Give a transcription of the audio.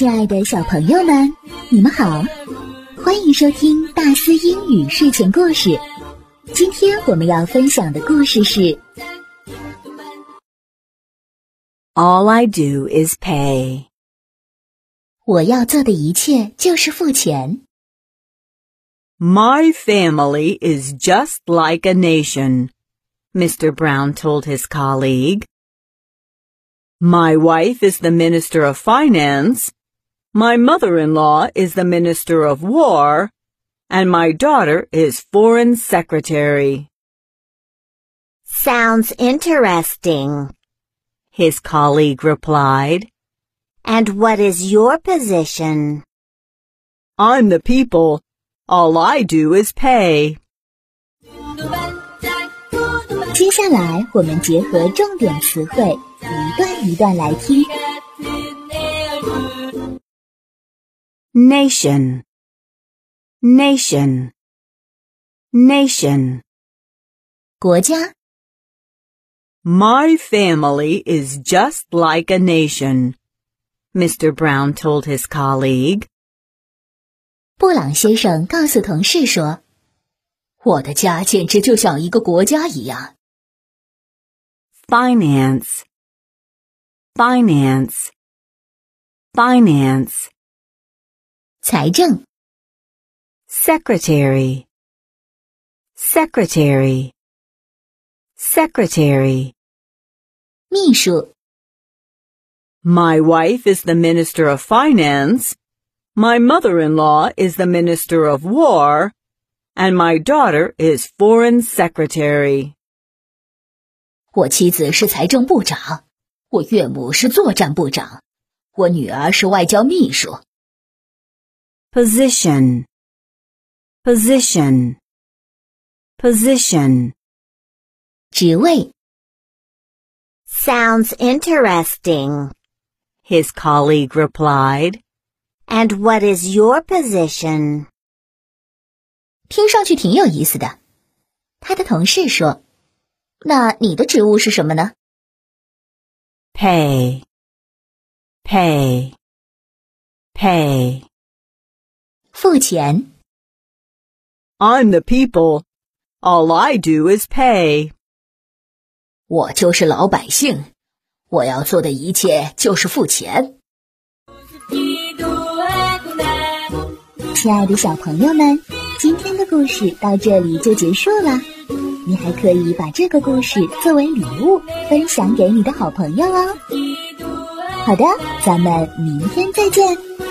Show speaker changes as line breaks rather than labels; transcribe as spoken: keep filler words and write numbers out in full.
亲爱的小朋友们，你们好，欢迎收听大思英语睡前故事。今天我们要分享的故事是
All I do is pay.
我要做的一切就是付钱。
My family is just like a nation, Mister Brown told his colleague. My wife is the Minister of Finance, my mother-in-law is the Minister of War, and my daughter is Foreign Secretary.
Sounds interesting,
his colleague replied.
And what is your position?
I'm the people. All I do is pay.
接下来我们结合重点词汇，一段一段来听。
Nation, nation, nation.
国家
My family is just like a nation, Mister Brown told his colleague.
布朗先生告诉同事说，我的家简直就像一个国家一样。
Finance, finance, finance.
财政
Secretary, secretary, secretary.
秘书
My wife is the Minister of Finance, my mother-in-law is the Minister of War, and my daughter is Foreign Secretary.
我妻子是财政部长，我岳母是作战部长，我女儿是外交秘书。
Position, position, position.
职位
Sounds interesting,
his colleague replied.
And what is your position?
听上去挺有意思的。他的同事说，那你的职务是什么呢？
Pay, pay, pay.
付钱
I'm the people. All I do is pay.
我就是老百姓，我要做的一切就是付钱。亲爱的小朋友们，今天的故事到这里就结束了。你还可以把这个故事作为礼物分享给你的好朋友哦。好的，咱们明天再见。